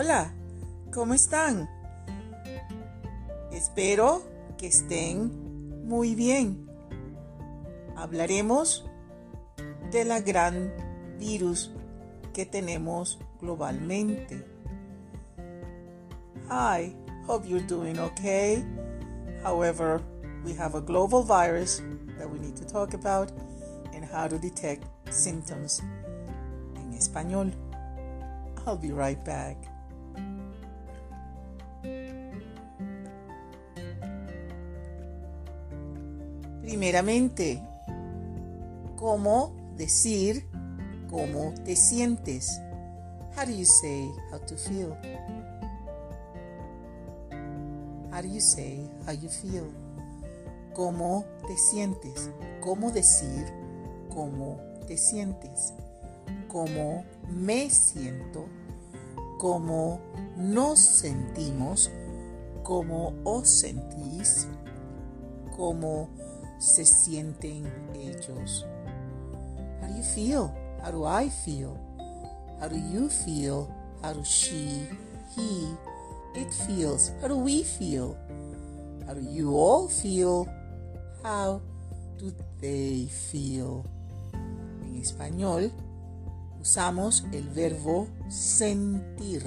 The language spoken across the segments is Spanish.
Hola, ¿cómo están? Espero que estén muy bien. Hablaremos de la gran virus que tenemos globalmente. Hi, hope you're doing okay. However, we have a global virus that we need to talk about and how to detect symptoms en español. I'll be right back. Primeramente, ¿cómo decir cómo te sientes? How do you say how to feel? How do you say how you feel? ¿Cómo te sientes? ¿Cómo decir cómo te sientes? ¿Cómo me siento? ¿Cómo nos sentimos? ¿Cómo os sentís? ¿Cómo se sienten ellos? How do you feel? How do I feel? How do you feel? How do she, he, it feels? How do we feel? How do you all feel? How do they feel? En español, usamos el verbo sentir.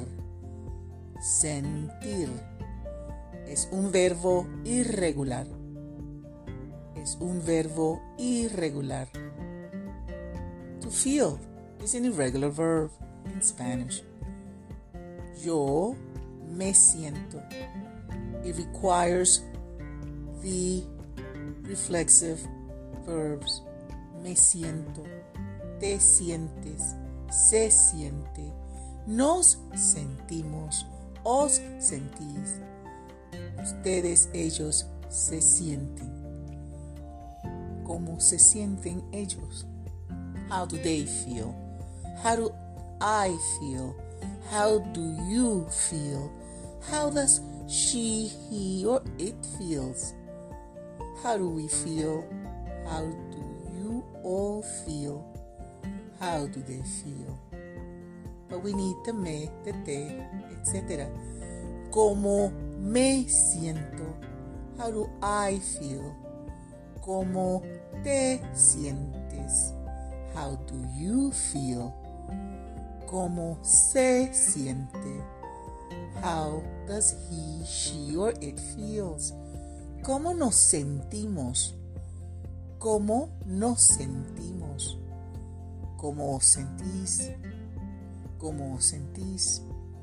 Sentir es un verbo irregular. Es un verbo irregular. To feel is an irregular verb in Spanish. Yo me siento. It requires the reflexive verbs. Me siento. Te sientes. Se siente. Nos sentimos. Os sentís. Ustedes, ellos, se sienten. ¿Cómo se sienten ellos? How do they feel? How do I feel? How do you feel? How does she, he, or it feels? How do we feel? How do you all feel? How do they feel? But we need the me, the te, etc. ¿Cómo me siento? How do I feel? ¿Cómo te sientes? How do you feel? ¿Cómo se siente? How does he, she, or it feels? ¿Cómo nos sentimos? ¿Cómo nos sentimos? ¿Cómo os sentís? ¿Cómo os sentís?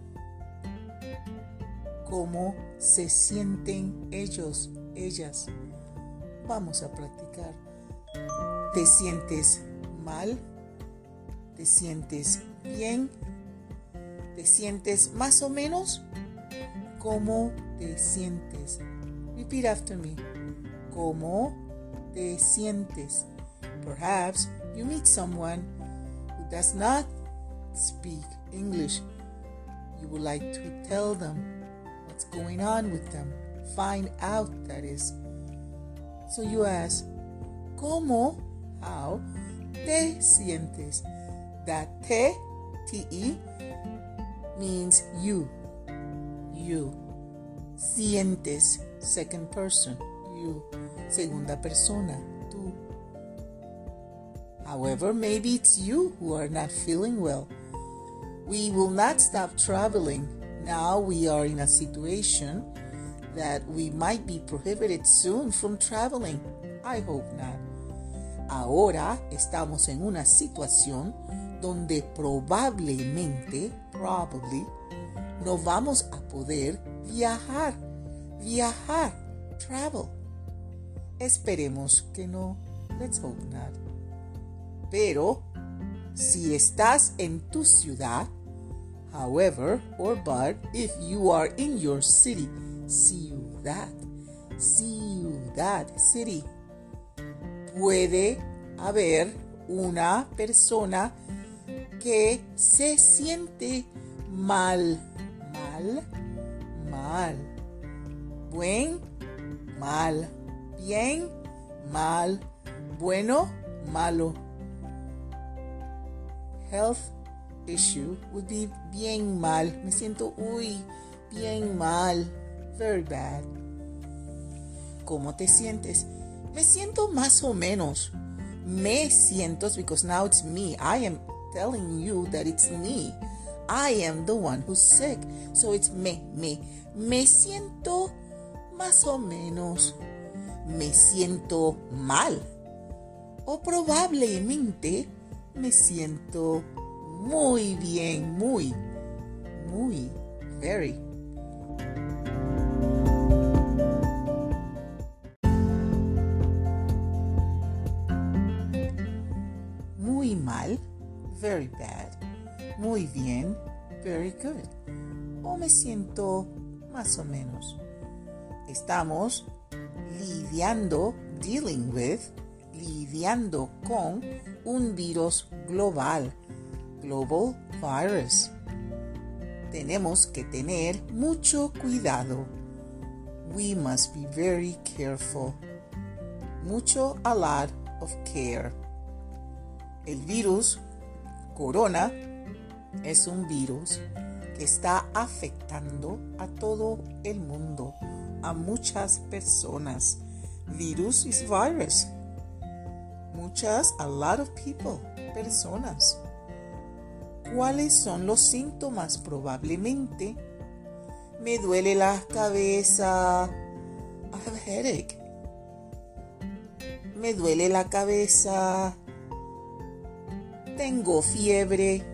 ¿Cómo se sienten ellos, ellas? Vamos a practicar. ¿Te sientes mal? ¿Te sientes bien? ¿Te sientes más o menos? ¿Cómo te sientes? Repeat after me. ¿Cómo te sientes? Perhaps you meet someone who does not speak English. You would like to tell them what's going on with them. Find out, that is. So you ask, ¿cómo? How te sientes? That te, te, means you. You. Sientes, second person. You. Segunda persona. Tú. However, maybe it's you who are not feeling well. We will not stop traveling. Now we are in a situation that we might be prohibited soon from traveling. I hope not. Ahora estamos en una situación donde probablemente, no vamos a poder viajar, travel. Esperemos que no. Let's hope not. Pero, si estás en tu ciudad, however, or but, if you are in your city, ciudad, city, puede haber una persona que se siente mal. Buen, mal. Bien, mal. Bueno, malo. Health, issue would be bien mal. Me siento, bien mal. Very bad. ¿Cómo te sientes? Me siento más o menos. Me siento, because now it's me. I am telling you that it's me. I am the one who's sick. So it's me. Me siento más o menos. Me siento mal. O probablemente me siento muy bien. Muy, very. Muy mal, very bad. Muy bien, very good. O me siento más o menos. Estamos lidiando con un virus global, global virus. Tenemos que tener mucho cuidado. We must be very careful. Mucho, a lot of care. El virus corona es un virus que está afectando a todo el mundo, a muchas personas. Virus is virus. Muchas, a lot of people, personas. ¿Cuáles son los síntomas? Probablemente me duele la cabeza. I have a headache. Me duele la cabeza. Tengo fiebre.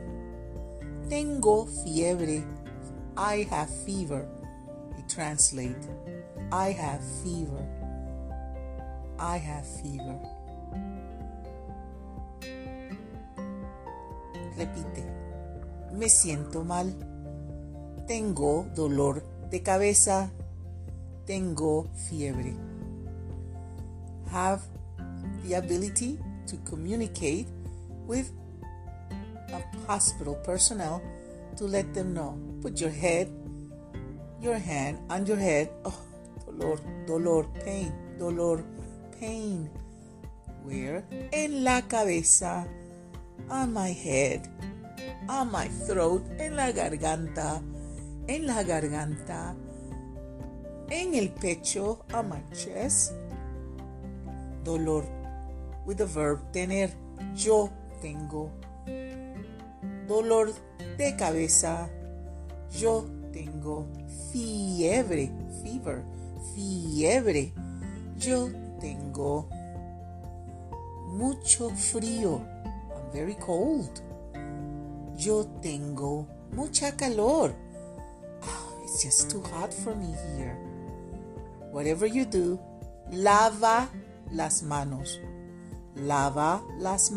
I have fever. We translate. I have fever. Repite. Me siento mal. Tengo dolor de cabeza. Tengo fiebre. Have the ability to communicate with a hospital personnel to let them know. Put your hand on your head. Oh, dolor, pain. Where? En la cabeza. On my head. On my throat. En la garganta. En el pecho. On my chest. Dolor. With the verb tener. Yo tengo. Dolor de cabeza. Yo tengo fiebre. Fiebre. Yo tengo mucho frío. I'm very cold. Yo tengo mucha calor. Oh, it's just too hot for me here. Whatever you do, lava las manos. Lávate las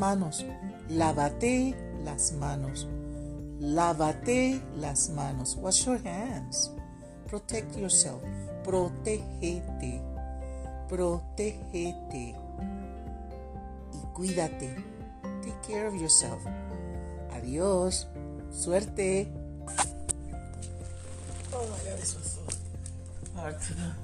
manos. Wash your hands. Protect yourself. Protégete. Y cuídate. Take care of yourself. Adiós. Suerte. Oh my God, this was so hard to do.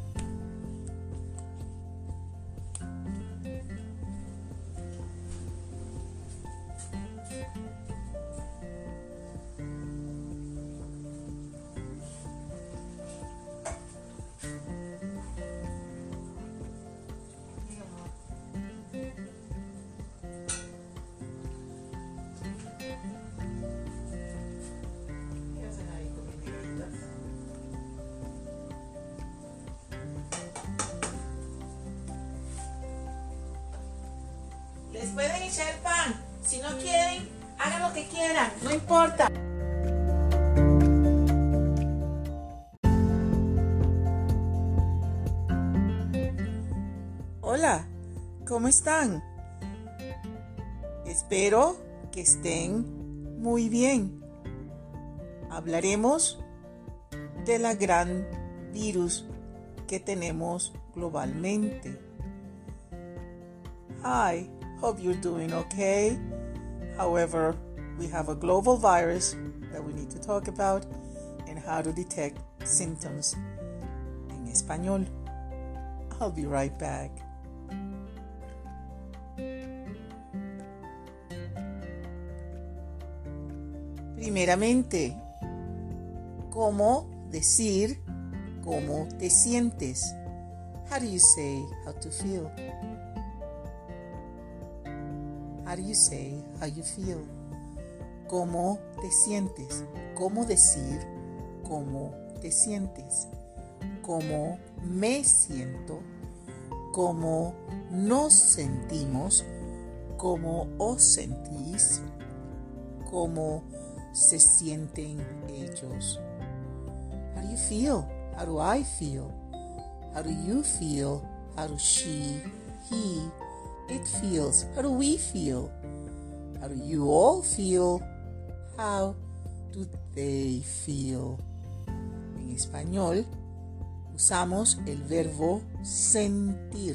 Les pueden echar pan. Si no quieren, hagan lo que quieran. No importa. Hola, ¿cómo están? Espero que estén muy bien. Hablaremos de la gran virus que tenemos globalmente. Hi. Hope you're doing okay. However, we have a global virus that we need to talk about and how to detect symptoms en español. I'll be right back. Primeramente, ¿cómo decir cómo te sientes? How do you say how to feel? How do you say how you feel? ¿Cómo te sientes? ¿Cómo decir cómo te sientes? ¿Cómo me siento? ¿Cómo nos sentimos? ¿Cómo os sentís? ¿Cómo se sienten ellos? How do you feel? How do I feel? How do you feel? How do she, he, it feels? How do we feel? How do you all feel? How do they feel? En español usamos el verbo sentir.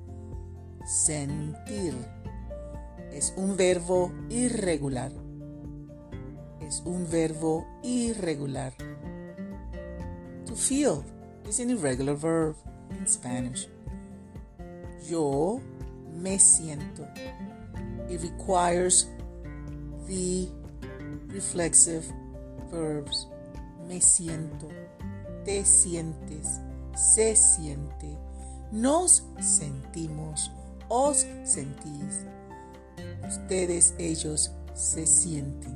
Sentir es un verbo irregular. Es un verbo irregular. To feel is an irregular verb in Spanish. Yo me siento. It requires the reflexive verbs. Me siento, te sientes, se siente, nos sentimos, os sentís, ustedes, ellos se sienten.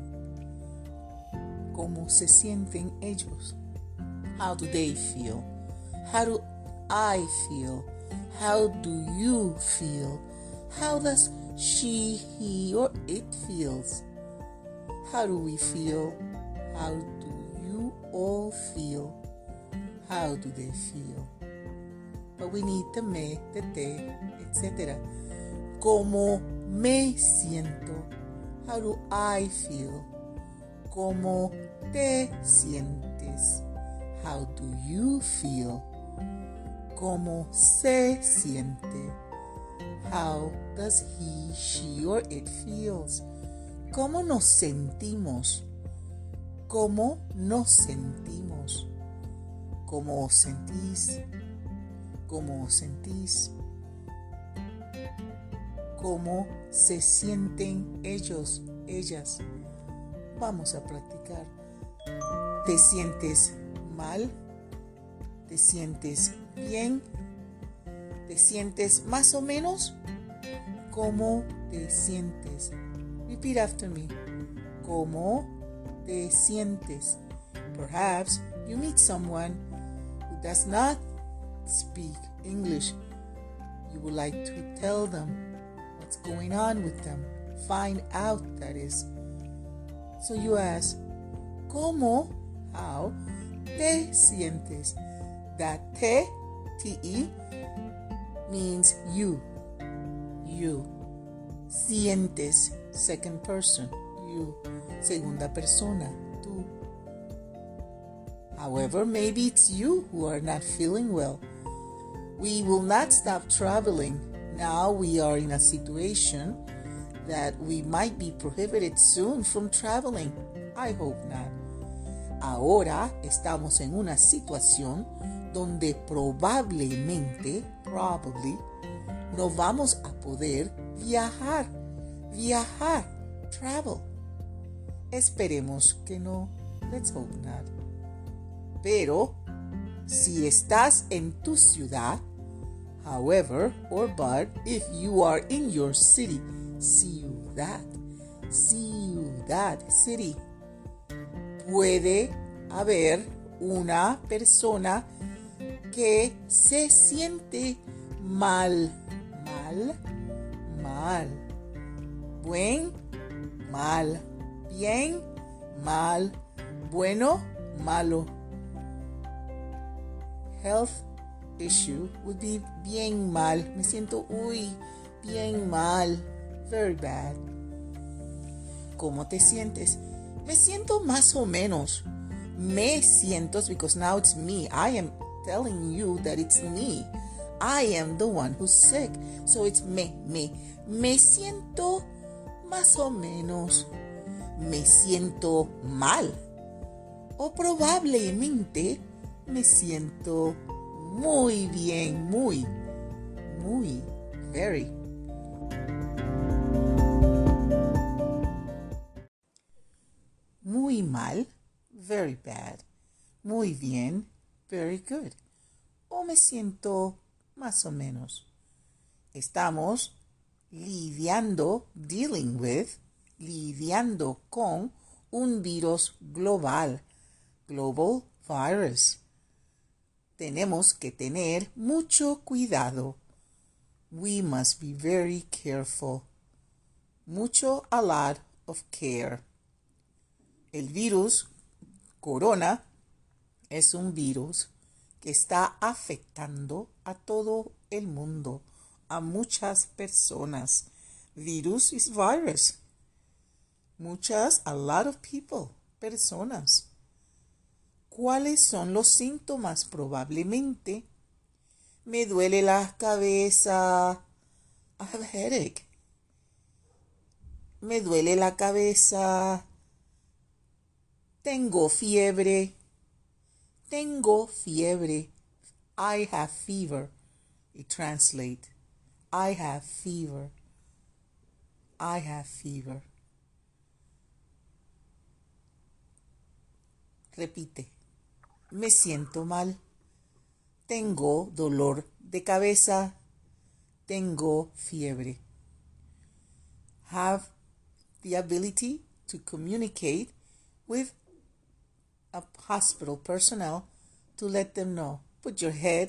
¿Cómo se sienten ellos? How do they feel? How do I feel? How do you feel? How does she, he, or it feels? How do we feel? How do you all feel? How do they feel? But we need the me, the te, etc. ¿Cómo me siento? How do I feel? ¿Cómo te sientes? How do you feel? ¿Cómo se siente? How does he, she, or it feels? ¿Cómo nos sentimos? ¿Cómo nos sentimos? ¿Cómo os sentís? ¿Cómo os sentís? ¿Cómo se sienten ellos, ellas? Vamos a practicar. ¿Te sientes mal? ¿Te sientes bien? ¿Te sientes más o menos? ¿Cómo te sientes? Repeat after me. ¿Cómo te sientes? Perhaps you meet someone who does not speak English. You would like to tell them what's going on with them. Find out, that is. So you ask, ¿cómo? How te sientes? That te, te, means you. You. Sientes, second person. You. Segunda persona. Tú. However, maybe it's you who are not feeling well. We will not stop traveling. Now we are in a situation that we might be prohibited soon from traveling. I hope not. Ahora estamos en una situación donde probablemente, no vamos a poder viajar, travel. Esperemos que no. Let's hope not. Pero, si estás en tu ciudad, however, or but, if you are in your city, ciudad, city, puede haber una persona que se siente mal. Buen, mal. Bien, mal. Bueno, malo. Health issue would be bien mal. Me siento, bien mal. Very bad. ¿Cómo te sientes? Me siento más o menos. Me siento, because now it's me. I am telling you that it's me. I am the one who's sick. So it's me. Me siento más o menos. Me siento mal. O probablemente me siento muy bien, muy, very. Muy mal, very bad. Muy bien, very good. O me siento más o menos. Estamos lidiando, dealing with, lidiando con un virus global, global virus. Tenemos que tener mucho cuidado. We must be very careful. Mucho, a lot of care. El virus corona es un virus que está afectando a todo el mundo, a muchas personas. Virus is virus. Muchas, a lot of people, personas. ¿Cuáles son los síntomas? Probablemente me duele la cabeza. I have a headache. Me duele la cabeza. Tengo fiebre. Tengo fiebre. I have fever. You translate. I have fever. I have fever. Repite. Me siento mal. Tengo dolor de cabeza. Tengo fiebre. Have the ability to communicate with a hospital personnel to let them know. Put your hand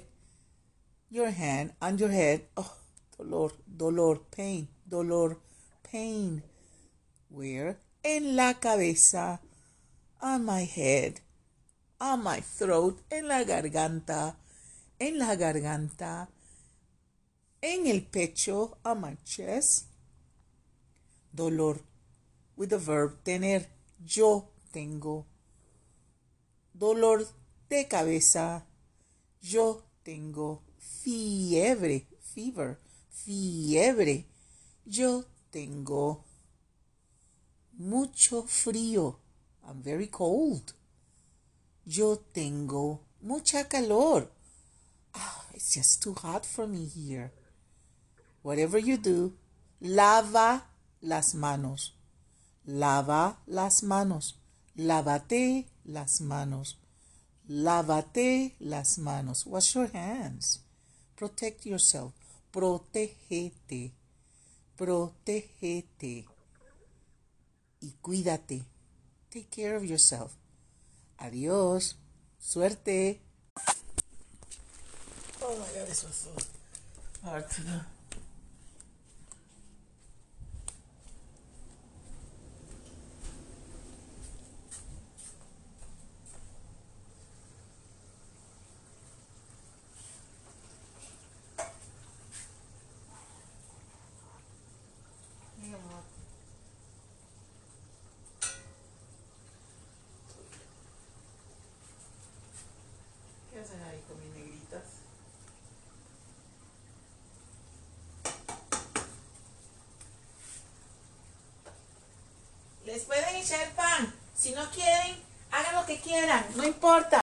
on your head. Oh, dolor, dolor, pain, dolor, pain. Where? En la cabeza. On my head. On my throat. En la garganta. En la garganta. En el pecho. On my chest. Dolor. With the verb tener. Yo tengo. Dolor de cabeza. Yo tengo fiebre. Fever. Fiebre. Yo tengo mucho frío. I'm very cold. Yo tengo mucha calor. It's just too hot for me here. Whatever you do, lava las manos. Lava las manos. Lávate las manos. Lávate las manos. Wash your hands. Protect yourself. Protégete. Protégete. Y cuídate. Take care of yourself. Adiós. Suerte. Oh my God, this was so hard to do. ¿Qué hacen ahí con mis negritas? Les pueden echar pan. Si no quieren, hagan lo que quieran. No importa.